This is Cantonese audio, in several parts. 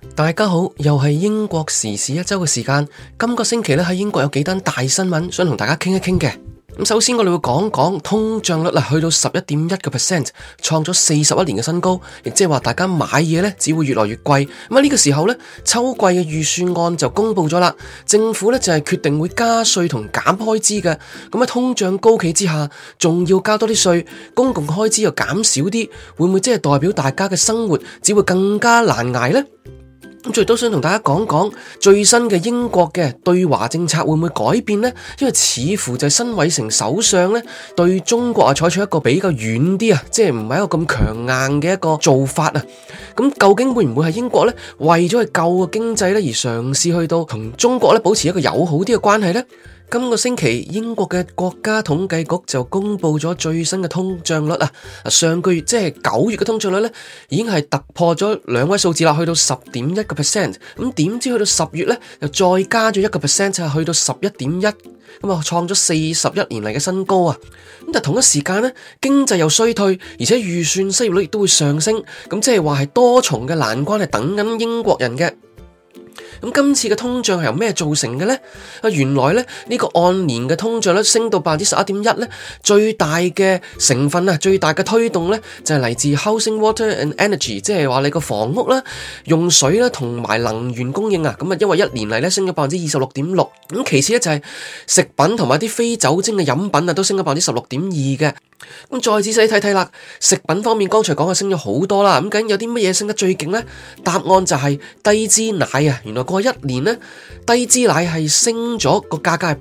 大家好，又係英國時事一周嘅時間。今個星期咧喺英國有幾單大新聞，想同大家傾一傾嘅。咁首先我哋會講講通脹率去到11.1%，創咗41年嘅新高，亦即係話大家買嘢咧只會越來越貴。咁呢個時候咧，秋季嘅預算案就公布咗啦，政府咧就係決定會加稅同減開支嘅。咁喺通脹高企之下，仲要加多啲稅，公共開支又減少啲，會唔會即係代表大家嘅生活只會更加難捱呢？咁最都想同大家講講最新嘅英國嘅對華政策會唔會改變呢？因為似乎就係辛偉誠首相咧對中國採取一個比較軟啲即係唔係一個咁強硬嘅一個做法啊。咁究竟會唔會係英國咧為咗去救個經濟咧而嘗試去到同中國咧保持一個友好啲嘅關係呢？今個星期英國嘅國家統計局就公布咗最新嘅通脹率啊！上個月即係9月嘅通脹率咧，已經係突破咗2位數字啦，去到10.1%。咁點知去到10月咧，又再加咗1%，就係去到11.1%，咁啊創咗41年嚟嘅新高啊！咁但同一時間咧，經濟又衰退，而且預算失業率亦都會上升，咁即係話係多重嘅難關係等緊英國人嘅。咁今次嘅通脹係由咩造成嘅呢？原來咧呢個按年嘅通脹率升到11.1%咧，最大嘅成分最大嘅推動咧就係嚟自 housing, water and energy， 即係話你個房屋啦、用水啦同埋能源供應啊。咁啊，因為一年嚟咧升咗26.6%。咁其次咧就係食品同埋啲非酒精嘅飲品都升咗16.2%嘅。咁再仔細睇睇啦，食品方面剛才講升咗好多啦。咁究竟有啲乜嘢升得最勁呢？答案就係低脂奶啊！原來過去一年呢，低脂奶係升咗個價格係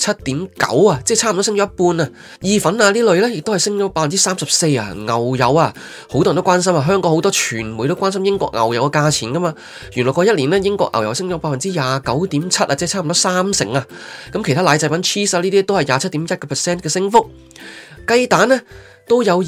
47.9%啊，即係差唔多升咗一半啊。意粉啊呢類咧，亦都係升咗34%啊。牛油啊，好多人都關心啊，香港好多傳媒都關心英國牛油嘅價錢噶嘛。原來過一年呢，英國牛油升咗29.7%啊，即係差唔多30%啊。咁其他奶製品 cheese 啊呢啲都係27.1% 嘅升幅。雞蛋呢都有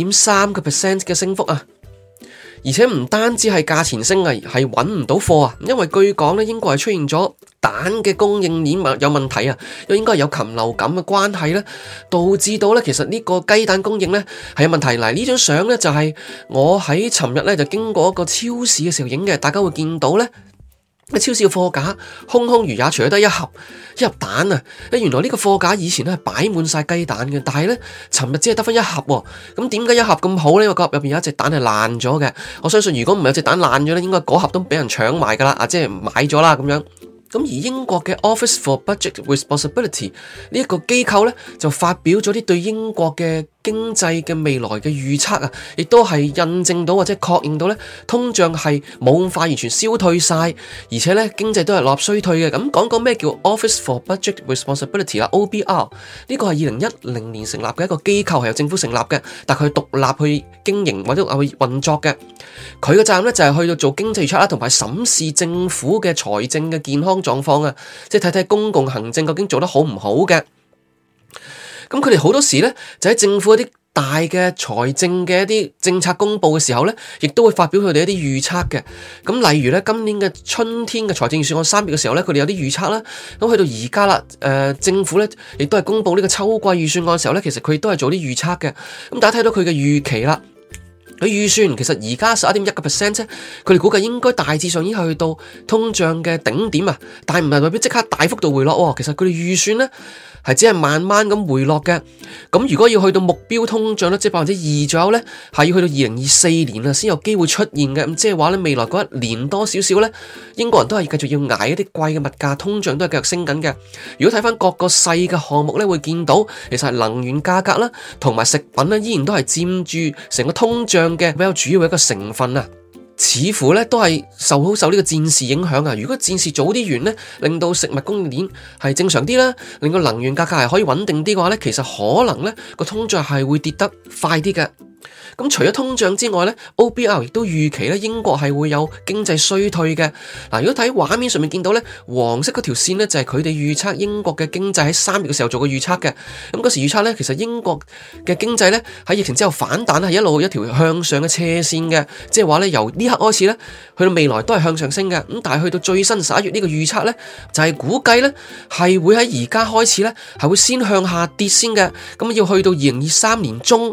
22.3% 嘅升幅啊，而且唔單止係價錢升啊，係揾唔到貨啊，因為據講咧英國係出現咗蛋嘅供應鏈有問題啊，又應該係有禽流感嘅關係咧，導致到咧其實呢個雞蛋供應咧係有問題。嗱，呢張相咧就係我喺尋日咧就經過一個超市嘅時候影嘅，大家會見到咧。超市嘅貨架空空如也，除咗得一盒蛋啊！原來呢個貨架以前咧係擺滿晒雞蛋嘅，但係咧尋日只係得翻一盒喎。咁點解一盒咁好呢？因為個盒入邊有一隻蛋係爛咗嘅。我相信如果唔係有隻蛋爛咗咧，應該嗰盒都俾人搶埋噶啦，即係買咗啦咁樣。咁而英國嘅 Office for Budget Responsibility 呢一個機構咧就發表咗啲對英國嘅經濟嘅未來嘅預測啊，亦都係印證到或者確認到咧通脹係冇咁快完全消退晒，而且咧經濟都係落入衰退嘅。咁講咩叫 Office for Budget Responsibility 啦 ？OBR 呢個係2010年成立嘅一個機構，係由政府成立嘅，但佢獨立去經營或者去運作嘅。佢嘅責任咧就係去到做經濟預測啦，同埋審視政府嘅財政嘅健康狀況啊，即係睇睇公共行政究竟做得好唔好嘅。咁佢哋好多時咧就喺政府一啲大嘅財政嘅一啲政策公布嘅時候咧，亦都會發表佢哋一啲預測嘅。咁例如咧，今年嘅春天嘅財政預算案3月嘅時候咧，佢哋有啲預測啦。咁去到而家啦，政府咧亦都係公布呢個秋季預算案嘅時候咧，其實佢亦都係做啲預測嘅。咁大家睇到佢嘅預期啦。佢預算其實而家11.1% 啫，佢哋估計應該大致上已經去到通脹嘅頂點啊，但係唔係代表即刻大幅度回落喎。其實佢哋預算咧係只係慢慢咁回落嘅。咁如果要去到目標通脹率即係2%左右咧，係要去到2024年啊先有機會出現嘅。咁即係話咧，未來嗰一年多少少咧，英國人都係繼續要捱一啲貴嘅物價，通脹都係繼續升緊嘅。如果睇翻各個細嘅項目咧，會見到其實係能源價格啦，同埋食品咧，依然都係佔住成個通脹嘅比較主要嘅一個成分啊，似乎咧都係受呢個戰事影響啊。如果戰事早啲完咧，令到食物供應鏈係正常啲啦，令到能源價格係可以穩定啲嘅話咧，其實可能咧個通脹係會跌得快啲嘅。咁除咗通脹之外咧 ，OBR 亦都預期咧英國係會有經濟衰退嘅。嗱，如果睇畫面上面見到咧，黃色嗰條線咧就係佢哋預測英國嘅經濟喺3月嘅時候做過預測嘅。咁嗰時預測咧，其實英國嘅經濟咧喺疫情之後反彈係一路一條向上嘅斜線嘅，即係話咧由呢刻開始咧去到未來都係向上升嘅。咁但係去到最新11月呢個預測咧，就係估計咧係會喺而家開始咧係會先向下跌先嘅。咁要去到2023年中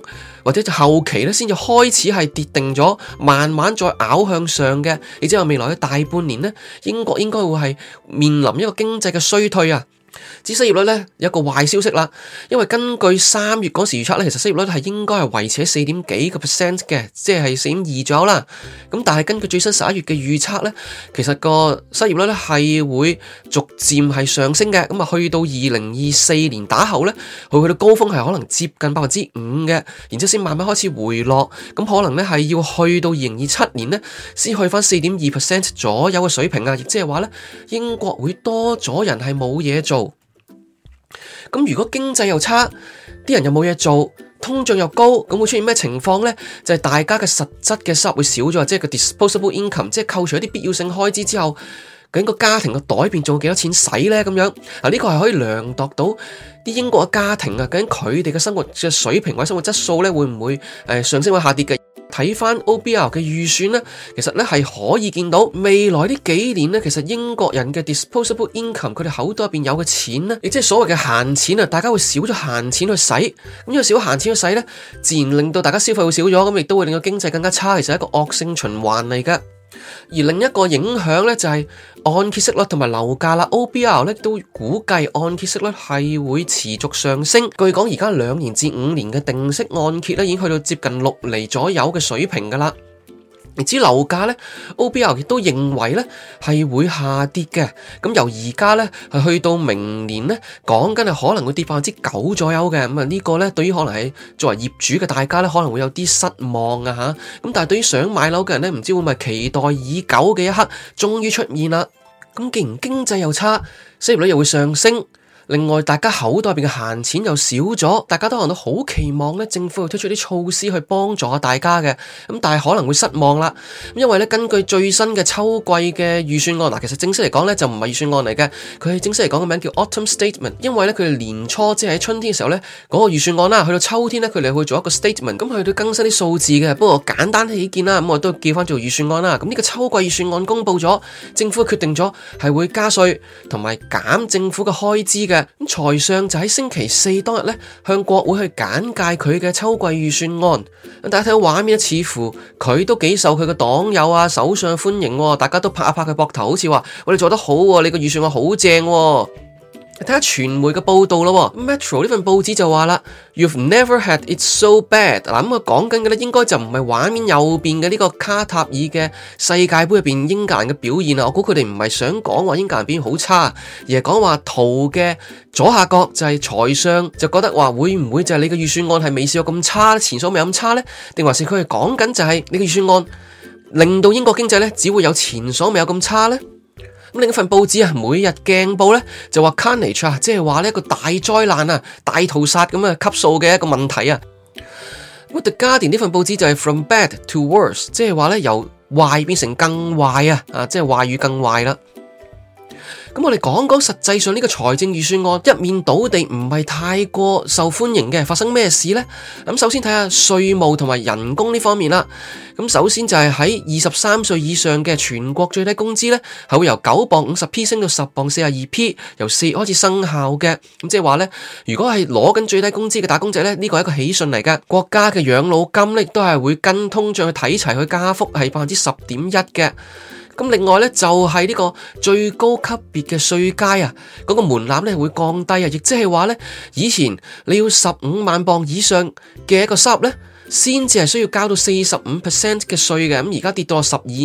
或者就後期咧先至開始係跌定咗，慢慢再咬向上嘅。亦即係未來嘅大半年咧，英國應該會係面臨一個經濟嘅衰退啊。至於失業率咧，有一個壞消息啦，因為根據3月嗰時預測咧，其實失業率係應該係維持喺4點幾個 percent 嘅，即係4.2左右啦。咁但係根據最新11月嘅預測咧，其實個失業率咧係會逐漸係上升嘅。咁啊，去到2024年打後咧，佢去到高峰係可能接近5%嘅，然之後先慢慢開始回落。咁可能咧係要去到2027年咧，先去翻4.2% 左右嘅水平啊。亦即係話咧，英國會多咗人係冇嘢做。咁如果經濟又差，啲人又冇嘢做，通脹又高，咁會出現咩情況呢？就係大家嘅實質嘅收入會少咗，即係個 disposable income，即係扣除一啲必要性開支之後，究竟個家庭嘅袋入邊仲有幾多錢使呢？咁樣啊，呢個係可以量度到啲英國嘅家庭啊，究竟佢哋嘅生活嘅水平或者生活質素咧，會唔會上升或下跌嘅？睇翻 OBR 嘅預算咧，其實咧係可以見到未來呢幾年咧，其實英國人嘅 disposable income，佢哋口袋入邊有嘅錢咧，亦即係所謂嘅閒錢啊，大家會少咗閒錢去使，咁因為少咗閒錢去使咧，自然令到大家消費會少咗，咁亦都會令到經濟更加差，其實係一個惡性循環嚟㗎。而另一個影響咧就係按揭息率同埋樓價啦。OBR 咧都估計按揭息率係會持續上升。據講而家2年至5年嘅定息按揭咧已經去到接近6厘左右嘅水平噶啦。而至於樓價咧 ，OBR 亦都認為咧係會下跌嘅。咁由而家咧係去到明年咧，講緊係可能會跌9%左右嘅。咁啊呢個咧對於可能係作為業主嘅大家咧，可能會有啲失望啊吓。咁但係對於想買樓嘅人咧，唔知會唔會期待已久嘅一刻終於出現啦。咁既然經濟又差，失業率又會上升。另外，大家口袋入邊嘅閒錢又少咗，大家都可能都好期望咧，政府會推出啲措施去幫助下大家嘅，咁但係可能會失望啦，因為咧根據最新嘅秋季嘅預算案，嗱其實正式嚟講咧就唔係預算案嚟嘅，佢係正式嚟講嘅名叫 Autumn Statement， 因為咧佢哋年初即係喺春天嘅時候咧嗰個預算案啦，去到秋天咧佢哋會做一個 statement， 咁佢都更新啲數字嘅，不過簡單起見啦，咁我都叫翻做預算案啦，咁呢個秋季預算案公布咗，政府決定咗係會加稅同埋減政府嘅開支嘅。咁財相就喺星期四當日咧，向國會去簡介佢嘅秋季預算案。大家睇到畫面咧，似乎佢都幾受佢嘅黨友啊、首相歡迎，大家都拍一拍佢膊頭，好似話我哋做得好，你個預算案好正。睇下傳媒嘅報道咯，Metro 呢份報紙就話啦 ，You've never had it so bad。嗱咁啊，講緊嘅咧，應該就唔係畫面右邊嘅呢個卡塔爾嘅世界盃入邊英格蘭嘅表現啊。我估佢哋唔係想講話英格蘭表現好差，而係講話圖嘅左下角就係財相就覺得話會唔會就係你嘅預算案係未試過咁差，前所未有咁差呢？定還是佢係講緊就係你嘅預算案令到英國經濟咧只會有前所未有咁差呢？咁另一份報紙啊，每日鏡報咧就話 Carnage 啊，即係話呢一個大災難啊、大屠殺咁啊級數嘅一個問題啊。咁 The Guardian 呢份報紙就係 From bad to worse， 即係話咧由壞變成更壞啊，即係壞與更壞啦。咁我哋講講實際上呢個財政預算案一面倒地唔係太過受歡迎嘅，發生咩事呢？咁首先睇下稅務同埋人工呢方面啦。咁首先就係喺23歲以上嘅全國最低工資呢，係會由9.50p 升到10.42p，由4月開始生效嘅。咁即係話呢，如果係攞緊最低工資嘅打工仔呢，呢個係一個喜訊嚟㗎。國家嘅養老金呢，亦都係會跟通脹去睇齊去加幅，係10.1%嘅。咁另外咧就係呢個最高級別嘅稅階啊，嗰個門檻咧會降低啊，亦即係話咧以前你要15萬鎊以上嘅一個收入咧，先至係需要交到45% 嘅稅嘅，咁而家跌到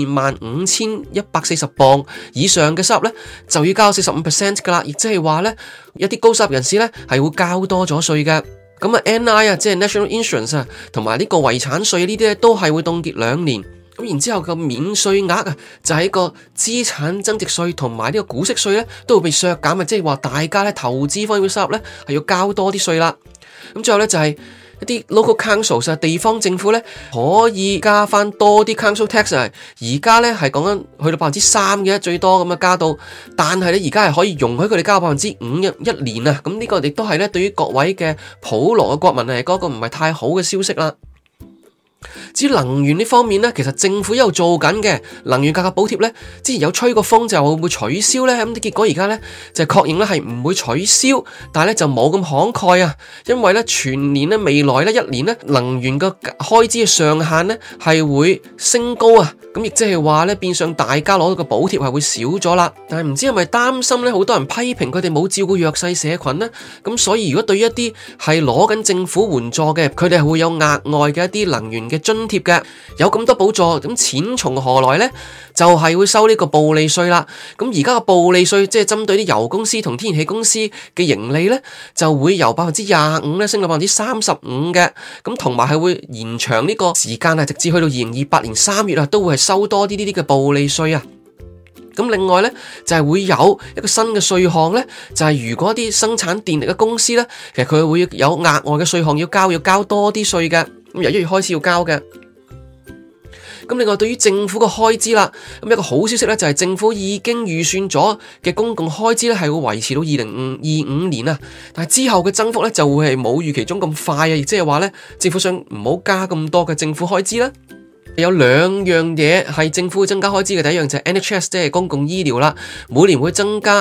125140鎊以上嘅收入咧，就要交45% 噶啦，亦即係話咧一啲高收入人士咧係會交多咗稅嘅。咁啊 NI 啊，即係 National Insurance 啊，同埋呢個遺產稅呢啲咧都係會凍結2年。咁然之後個免稅額啊，就係個資產增值稅同埋呢個股息稅咧，都會被削減啊！即係話大家咧投資方面嘅收入咧，係要交多啲稅啦。咁最後咧就係一啲 local councils 啊，地方政府咧可以加翻多啲 council tax 啊。而家咧係講緊去到3%嘅最多咁啊加到，但係咧而家係可以容許佢哋交5%一年啊。咁呢個亦都係咧對於各位嘅普羅嘅國民嚟講，一個唔係太好嘅消息啦。 至於能源呢方面呢，其實政府一路做緊嘅能源價格補貼呢，之前有吹過風就會唔會取消呢？咁結果而家呢，就確認呢係唔會取消，但係呢就冇咁慷慨啊，因為呢全年呢未來呢一年呢能源嘅開支嘅上限呢係會升高啊，咁亦即係話呢變相大家攞到嘅補貼係會少咗啦。但係唔知係咪擔心呢好多人批評佢哋冇照顧弱勢社群呢？咁所以如果對於一啲係攞緊政府援助嘅，佢哋係會有額外嘅一啲能源嘅津貼嘅，有咁多補助，咁錢從何來呢？就係會收呢個暴利稅啦。咁而家嘅暴利稅即係針對啲油公司同天然氣公司嘅盈利呢，就會由25%升到35%嘅。咁同埋係會延長呢個時間啊，直至去到2028年3月啊，都會係收多啲呢啲嘅暴利稅啊。咁另外呢，就係會有一個新嘅稅項呢，就係如果啲生產電力嘅公司呢，其實佢會有額外嘅稅項要交多啲稅嘅。咁由1月開始要交嘅。咁另外對於政府嘅開支啦，咁一個好消息咧就係政府已經預算咗嘅公共開支咧係會維持到2025年啊，但係之後嘅增幅咧就會係冇預期中咁快啊，亦即係話咧政府想唔好加咁多嘅政府開支啦。有兩樣嘢係政府會增加開支嘅，第一樣就係 NHS 即係公共醫療啦，每年會增加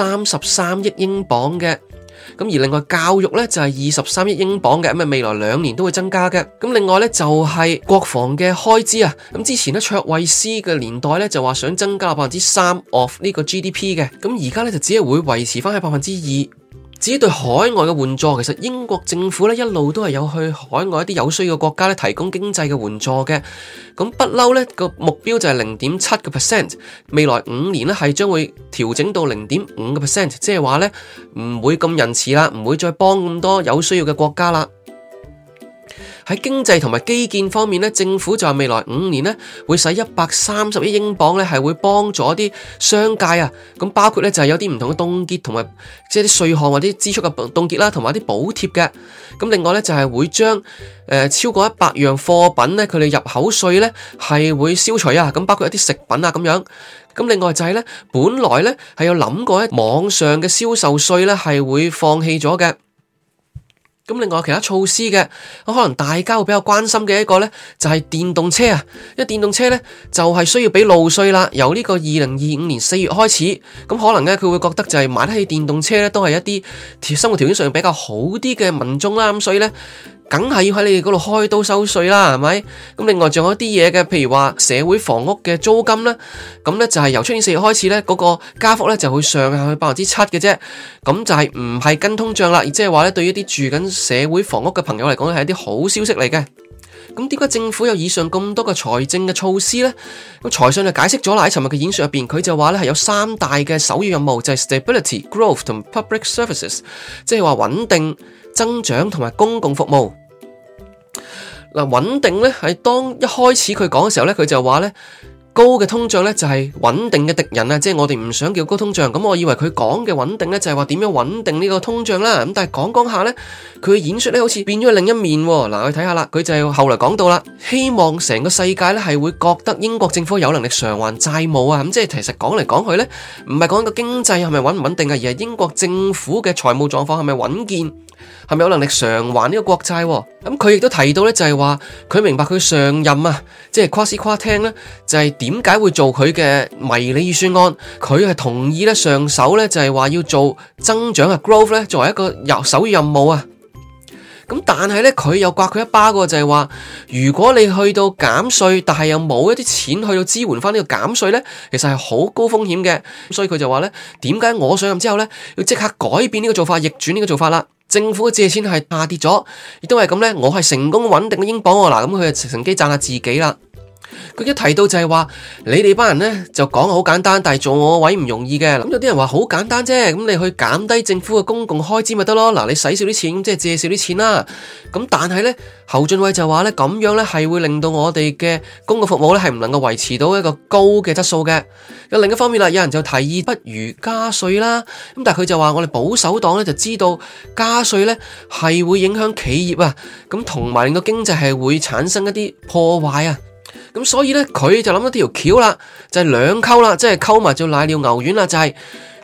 33億英鎊嘅。咁而另外教育咧就係23億英鎊嘅，咁啊未來2年都會增加嘅。咁另外咧就係國防嘅開支啊，咁之前咧卓慧思嘅年代咧就話想增加3% of 呢個 GDP 嘅，咁而家咧就只係會維持翻喺2%。至於對海外嘅援助，其實英國政府咧一路都係有去海外一啲有需要嘅國家咧提供經濟嘅援助嘅。咁不嬲咧個目標就係0.7%，未來5年咧係將會調整到0.5%，即係話咧唔會咁仁慈啦，唔會再幫咁多有需要嘅國家啦。喺經濟同埋基建方面咧，政府就係未來5年咧會使130億英鎊咧係會幫助啲商界啊，咁包括咧就係有啲唔同嘅凍結同埋即係啲稅項或者支出嘅凍結啦，同埋啲補貼嘅。咁另外咧就係會將超過100樣貨品咧佢哋入口稅咧係會消除啊，咁包括一啲食品啊咁樣。咁另外就係咧本來咧係有諗過喺網上嘅銷售稅咧係會放棄咗嘅。咁另外有其他措施嘅，可能大家會比較關心嘅一個呢，就係電動車啊，因為電動車呢，就係需要俾路稅啦，由呢個2025年4月開始，咁可能呢，佢會覺得就係買得起電動車呢，都係一啲生活條件上比較好啲嘅民眾啦，咁所以呢，梗係要喺你哋嗰度開刀收稅啦，係咪？咁另外仲有啲嘢嘅，譬如話社會房屋嘅租金咧，咁咧就係由出年4月開始咧，嗰個加幅咧就會上下去7%嘅啫。咁就係唔係跟通脹啦，亦即係話咧，對於一啲住緊社會房屋嘅朋友嚟講係一啲好消息嚟嘅。咁點解政府有以上咁多嘅財政嘅措施呢？咁財相就解釋咗啦，喺尋日嘅演說入邊，佢就話咧係有3大嘅首要任務，就係 stability、growth 同 public services， 即係話穩定、增長同埋公共服務。嗱，穩定咧係當一開始佢講嘅時候咧，佢就話咧高嘅通脹咧就係穩定嘅敵人啊，即係我哋唔想叫高通脹。咁我以為佢講嘅穩定咧就係話點樣穩定呢個通脹啦。咁但係講下咧，佢嘅演說咧好似變咗另一面。嗱，我哋睇下啦，佢就係後來講到啦，希望成個世界咧係會覺得英國政府有能力償還債務啊。咁即係其實講嚟講去咧，唔係講個經濟係咪穩唔穩定啊，而係英國政府嘅財務狀況係咪穩健。係咪有能力償還呢個國債？咁佢亦都提到咧，就係話佢明白佢上任啊，即係誇誇聽咧，就係點解會做佢嘅迷你預算案？佢係同意咧上手咧，就係話要做增長啊 growth 咧，作為一個首要任務啊。咁但係咧，佢又刮佢一巴嘅，就係話如果你去到減稅，但係又冇一啲錢去到支援翻呢個減稅咧，其實係好高風險嘅。所以佢就話咧，點解我上任之後咧，要即刻改變呢個做法，逆轉呢個做法啦？政府嘅借錢係下跌咗，亦都係咁咧，我係成功穩定嘅英鎊喎。嗱，咁佢就乘機讚下自己啦。佢一提到就係話，你哋班人咧就講好簡單，但係做我位唔容易嘅。咁有啲人話好簡單啫，咁你去減低政府嘅公共開支咪得咯？嗱，你使少啲錢，即係借少啲錢啦。咁但係咧，侯俊偉就話咧，咁樣咧係會令到我哋嘅公共服務咧係唔能夠維持到一個高嘅質素嘅。有另一方面啦，有人就提議不如加稅啦。咁但係佢就話我哋保守黨咧就知道加稅咧係會影響企業啊，咁同埋令到經濟係會產生一啲破壞啊。咁所以咧，佢就諗到條橋啦，就係兩溝啦，即係溝埋做瀨尿牛丸啦，就係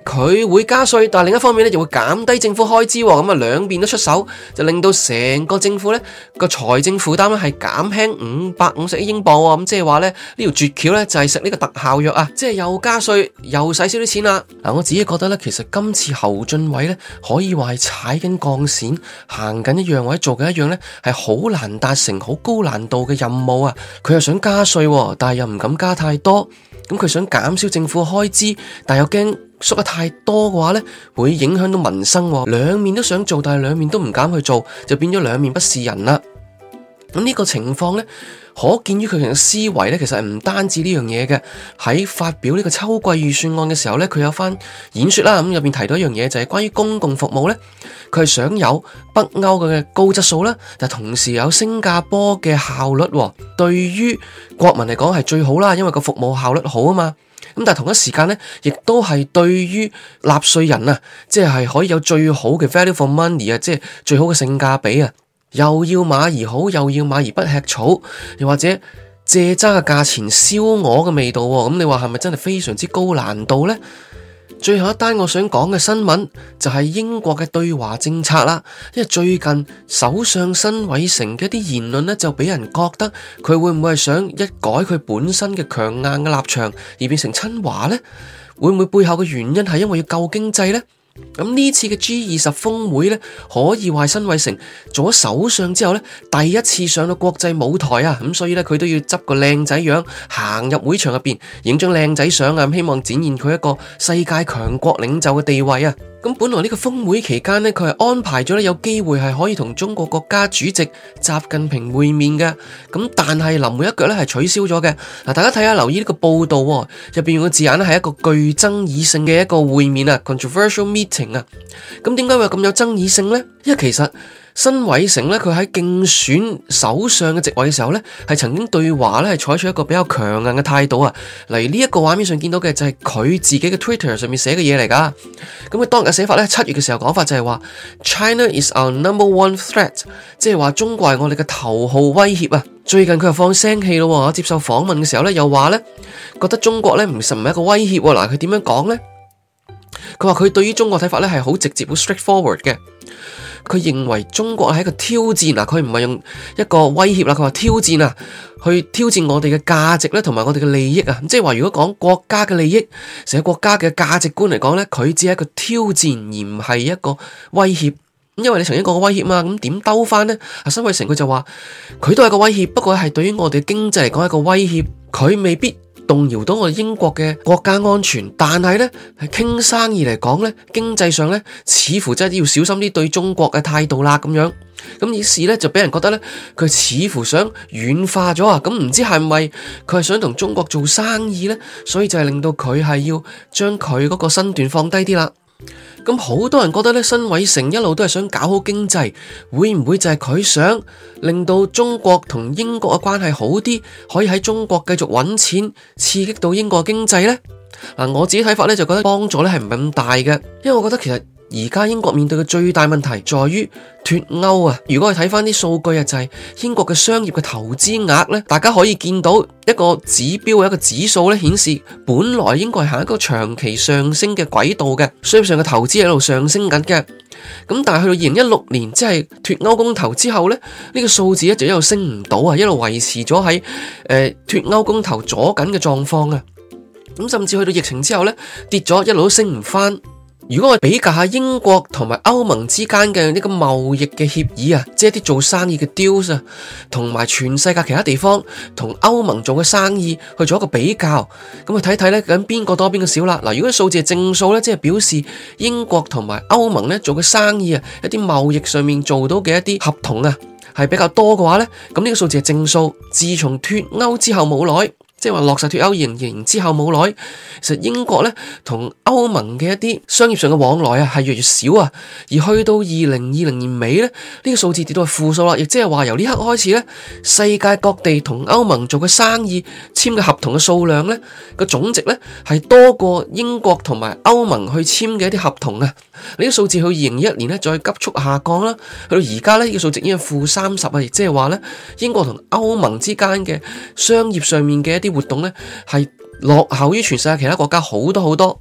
佢會加稅，但係另一方面咧就會減低政府開支，咁啊兩邊都出手，就令到成個政府咧個財政負擔咧係減輕550億英鎊，咁即係話咧呢條絕橋咧就係食呢個特效藥啊，即係又加稅又使少啲錢啦。嗱，我自己覺得咧，其實今次侯俊偉咧可以話係踩緊鋼線，行緊一樣或者做緊一樣咧係好難達成、好高難度嘅任務啊。佢又想加稅，但係又唔敢加太多，咁佢想減少政府開支，但又驚縮得太多嘅話呢，會影響到民生，兩面都想做，但係兩面都唔敢去做，就變咗兩面不是人啦。咁呢個情況呢，可見於佢嘅思維呢，其實係唔單止呢樣嘢嘅。喺發表呢個秋季預算案嘅時候呢，佢有番演說啦，咁入邊提到一樣嘢，就係關於公共服務呢，佢係想有北歐嘅高質素啦，但同時有新加坡嘅效率，對於國民嚟講係最好啦，因為個服務效率好啊嘛。咁但係同一時間咧，亦都係對於納稅人啊，即係可以有最好嘅 value for money 啊，即係最好嘅性價比啊，又要馬兒好，又要馬兒不吃草，又或者借渣嘅價錢燒鵝嘅味道喎。咁你話係咪真係非常之高難度呢？最後一單我想講嘅新聞就係英國嘅對華政策啦，因為最近首相辛偉誠嘅一啲言論呢，就俾人覺得佢會唔會係想一改佢本身嘅強硬嘅立場而變成親華呢？會唔會背後嘅原因係因為要救經濟呢？咁呢次嘅 G20 峰會呢，可以話辛偉誠做咗首相之後呢，第一次上到國際舞台啊，咁所以呢，佢都要執個靚仔樣行入會場入邊影張靚仔相啊，希望展現佢一個世界強國領袖嘅地位啊。咁本來呢個峰會期間呢，佢係安排咗有機會係可以同中國國家主席習近平會面嘅，咁但係臨門一腳呢係取消咗嘅。嗱，大家睇下留意呢個報道喎，入邊用嘅字眼呢係一個具爭議性嘅一個會面啊 ，controversial meeting 啊。咁點解會有咁有爭議性呢？因為其實辛偉誠咧，佢喺競選首相嘅席位嘅時候咧，係曾經對華咧係採取一個比較強硬嘅態度啊。例如呢一個畫面上見到嘅就係佢自己嘅 Twitter 上面寫嘅嘢嚟噶。咁佢當日嘅寫法咧，7月嘅時候講法就係話 China is our number one threat， 即係話中國係我哋嘅頭號威脅啊。最近佢又放聲氣咯，接受訪問嘅時候咧，又話咧覺得中國咧唔係一個威脅。嗱，佢點樣講咧？佢話佢對於中國睇法咧係好直接、好 straightforward 嘅。佢認為中國係一個挑戰啊，佢唔係用一個威脅啦，佢話挑戰啊，去挑戰我哋嘅價值咧，同埋我哋嘅利益啊，即係話如果講國家嘅利益，成個國家嘅價值觀嚟講咧，佢只係一個挑戰，而唔係一個威脅。因為你曾經講過威脅嘛，咁點兜翻呢？辛偉誠佢就話佢都係個威脅，不過係對於我哋經濟嚟講係一個威脅，佢未必動搖到我哋英國嘅國家安全，但係呢，係傾生意嚟講呢，經濟上呢，似乎真係要小心啲對中國嘅態度啦咁樣。咁於是呢，就俾人覺得呢，佢似乎想軟化咗啊。咁唔知係咪佢係想同中國做生意呢？所以就係令到佢係要將佢嗰個身段放低啲啦。咁好多人覺得咧，辛偉誠一路都係想搞好經濟，會唔會就係佢想令到中國同英國嘅關係好啲，可以喺中國繼續揾錢，刺激到英國經濟呢？嗱，我自己睇法咧就覺得幫助咧係唔係咁大嘅，因為我覺得其實而家英國面對嘅最大問題在於脫歐啊！如果我哋睇翻啲數據啊，就係英國嘅商業嘅投資額咧，大家可以見到一個指標，一個指數咧顯示，本來英國係行一個長期上升嘅軌道嘅，商業上嘅投資喺度上升緊嘅。咁但係去到2016年，即係脫歐公投之後咧，呢個數字一直一路升唔到啊，一路維持咗喺脫歐公投阻緊嘅狀況啊。咁甚至去到疫情之後咧，跌咗，一路都升唔翻。如果我比較下英國同埋歐盟之間嘅呢個貿易嘅協議啊，即係啲做生意嘅 deals 啊，同埋全世界其他地方同歐盟做嘅生意去做一個比較，咁去睇睇咧，究竟邊個多邊個少啦？嗱，如果數字係正數咧，即係表示英國同埋歐盟咧做嘅生意啊，一啲貿易上面做到嘅一啲合同啊，係比較多嘅話咧，咁呢個數字係正數。自從脫歐之後冇耐，即係話落實脫歐2020之後冇耐，其實英國咧同歐盟嘅一啲商業上嘅往來啊係越嚟越少啊，而去到2020年尾咧，呢個數字跌到係負數啦，亦即係話由呢刻開始咧，世界各地同歐盟做嘅生意簽嘅合同嘅數量咧個總值咧係多過英國同埋歐盟去簽嘅一啲合同啊，呢個數字去2021年咧再急速下降啦，去到而家咧呢個數值已經係-30啊，亦即係話咧英國同歐盟之間嘅商業上面嘅一啲活動咧係落後於全世界其他國家好多好多。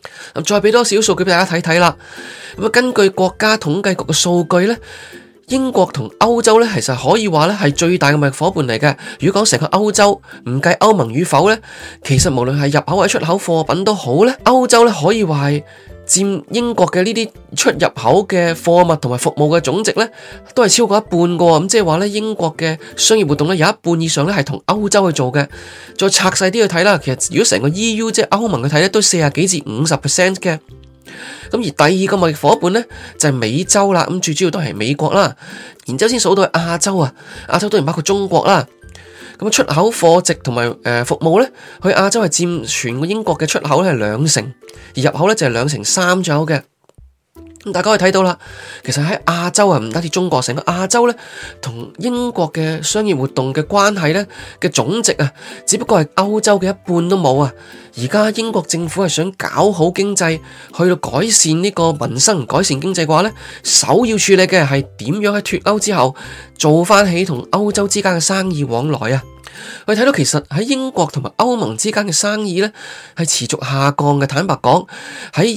再俾多少數據俾大家睇睇啦。根據國家統計局嘅數據呢，英國同歐洲呢，其實可以話呢係最大嘅貿易夥伴嚟嘅。如果講成個歐洲唔計歐盟與否呢，其實無論係入口或者出口貨品都好呢，歐洲呢可以話係佔英國嘅呢啲出入口嘅貨物同埋服務嘅總值呢，都係超過一半嘅。咁即係話呢，英國嘅商業活動呢，有一半以上呢係同歐洲去做嘅。再拆細啲去睇啦，其實如果成個 EU 即係歐盟去睇呢，都40幾至50% 嘅。咁而第二個貿易夥伴呢，就係美洲啦，咁最主要都係美國啦，然之後先數到亞洲啊，亞洲當然包括中國啦。咁出口貨值同埋服務呢，去亞洲係佔全個英國嘅出口呢係2成，而入口呢就係2.3%左右嘅。咁大家可以睇到啦，其實喺亞洲啊，唔單止中國，成個亞洲呢，同英國嘅商業活動嘅關係呢嘅總值啊，只不過係歐洲嘅一半都冇啊。而家英國政府係想搞好經濟，去到改善呢個民生、改善經濟嘅話呢，首要處理嘅係點樣喺脫歐之後做翻起同歐洲之間嘅生意往來啊。我哋睇到其實喺英國同埋歐盟之間嘅生意呢係持續下降嘅。坦白講，喺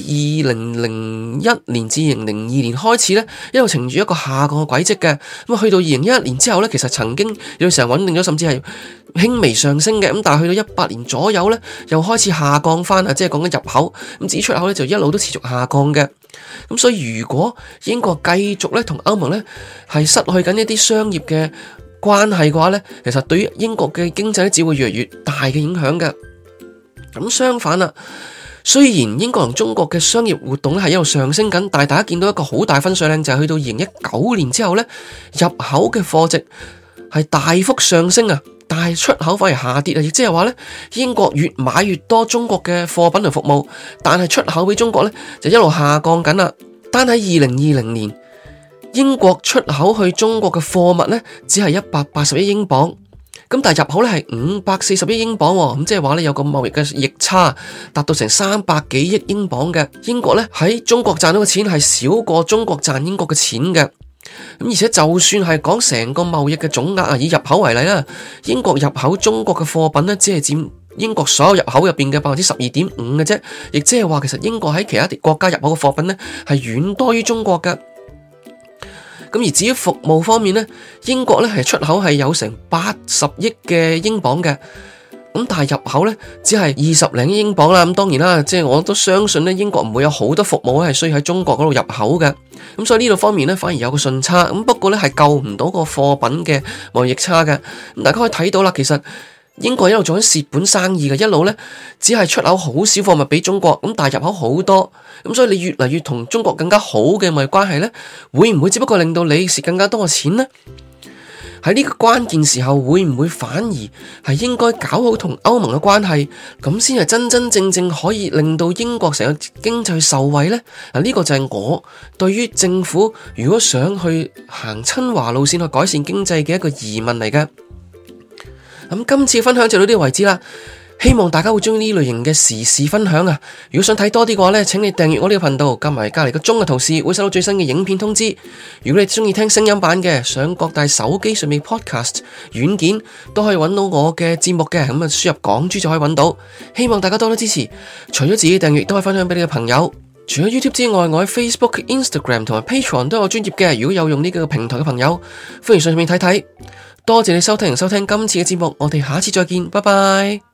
2001年至2002年開始呢，一路呈住一個下降嘅軌跡嘅。咁去到2011年之後呢，其實曾經有時候穩定咗，甚至係輕微上升嘅。咁但係去到18年左右呢，又開始下降翻啊，即係講緊入口。咁至於出口呢，就一路都持續下降嘅。咁所以如果英國繼續呢同歐盟呢係失去緊一啲商業嘅關係嘅話呢，其實對於英國嘅經濟只會越嚟越大嘅影響嘅。咁相反啦，雖然英國同中國嘅商業活動咧係一路上升緊，但係大家見到一個好大分水嶺就係去到2019年之後呢，入口嘅貨值係大幅上升啊，但係出口反而下跌啊，亦即係話呢，英國越買越多中國嘅貨品同服務，但係出口俾中國呢就一路下降緊啦。單喺2020年，英國出口去中國嘅貨物呢，只係180億英鎊，咁但係入口呢係540億英鎊，咁即係話呢，有個貿易嘅逆差達到成300幾億英鎊嘅。英國呢喺中國賺到嘅錢係少過中國賺英國嘅錢嘅，咁而且就算係講成個貿易嘅總額啊，以入口為例啦，英國入口中國嘅貨品呢，只係佔英國所有入口入邊嘅12.5%嘅啫，亦即係話其實英國喺其他國家入口嘅貨品呢，係遠多於中國嘅。咁而至於服務方面呢，英國呢係出口係有成80億嘅英鎊嘅，咁但係入口呢只係20零億英鎊啦。咁當然啦，即係我都相信呢，英國唔會有好多服務係需要喺中國嗰度入口嘅，咁所以呢度方面呢，反而有個順差。咁不過呢係救唔到個貨品嘅貿易差嘅。咁大家可以睇到啦，其實英國一路做緊蝕本生意嘅，一路呢只係出口好少貨物俾中國，咁但係入口好多，咁所以你越嚟越同中國更加好嘅貿易關係呢，會唔會只不過令到你蝕更加多嘅錢呢？喺呢個關鍵時候，會唔會反而係應該搞好同歐盟嘅關係，咁先係真真正正可以令到英國成個經濟受惠呢？嗱，呢個就係我對於政府如果想去行親華路線去改善經濟嘅一個疑問嚟嘅。咁今次分享就到呢個為止啦，希望大家會中意呢類型嘅時事分享啊！如果想睇多啲嘅話呢，請你訂閱我呢個頻道，加埋隔籬個鐘嘅圖示，會收到最新嘅影片通知。如果你中意聽聲音版嘅，上各大手機上面 podcast 軟件都可以揾到我嘅節目嘅，咁啊輸入港珠就可以揾到。希望大家多多支持，除咗自己訂閱，都可以分享俾你嘅朋友。除咗 YouTube 之外，我喺 Facebook、Instagram 同埋 Patreon 都有專頁嘅。如果有用呢個平台嘅朋友，歡迎上面睇睇。多謝你收聽今次嘅節目，我哋下次再見，拜拜。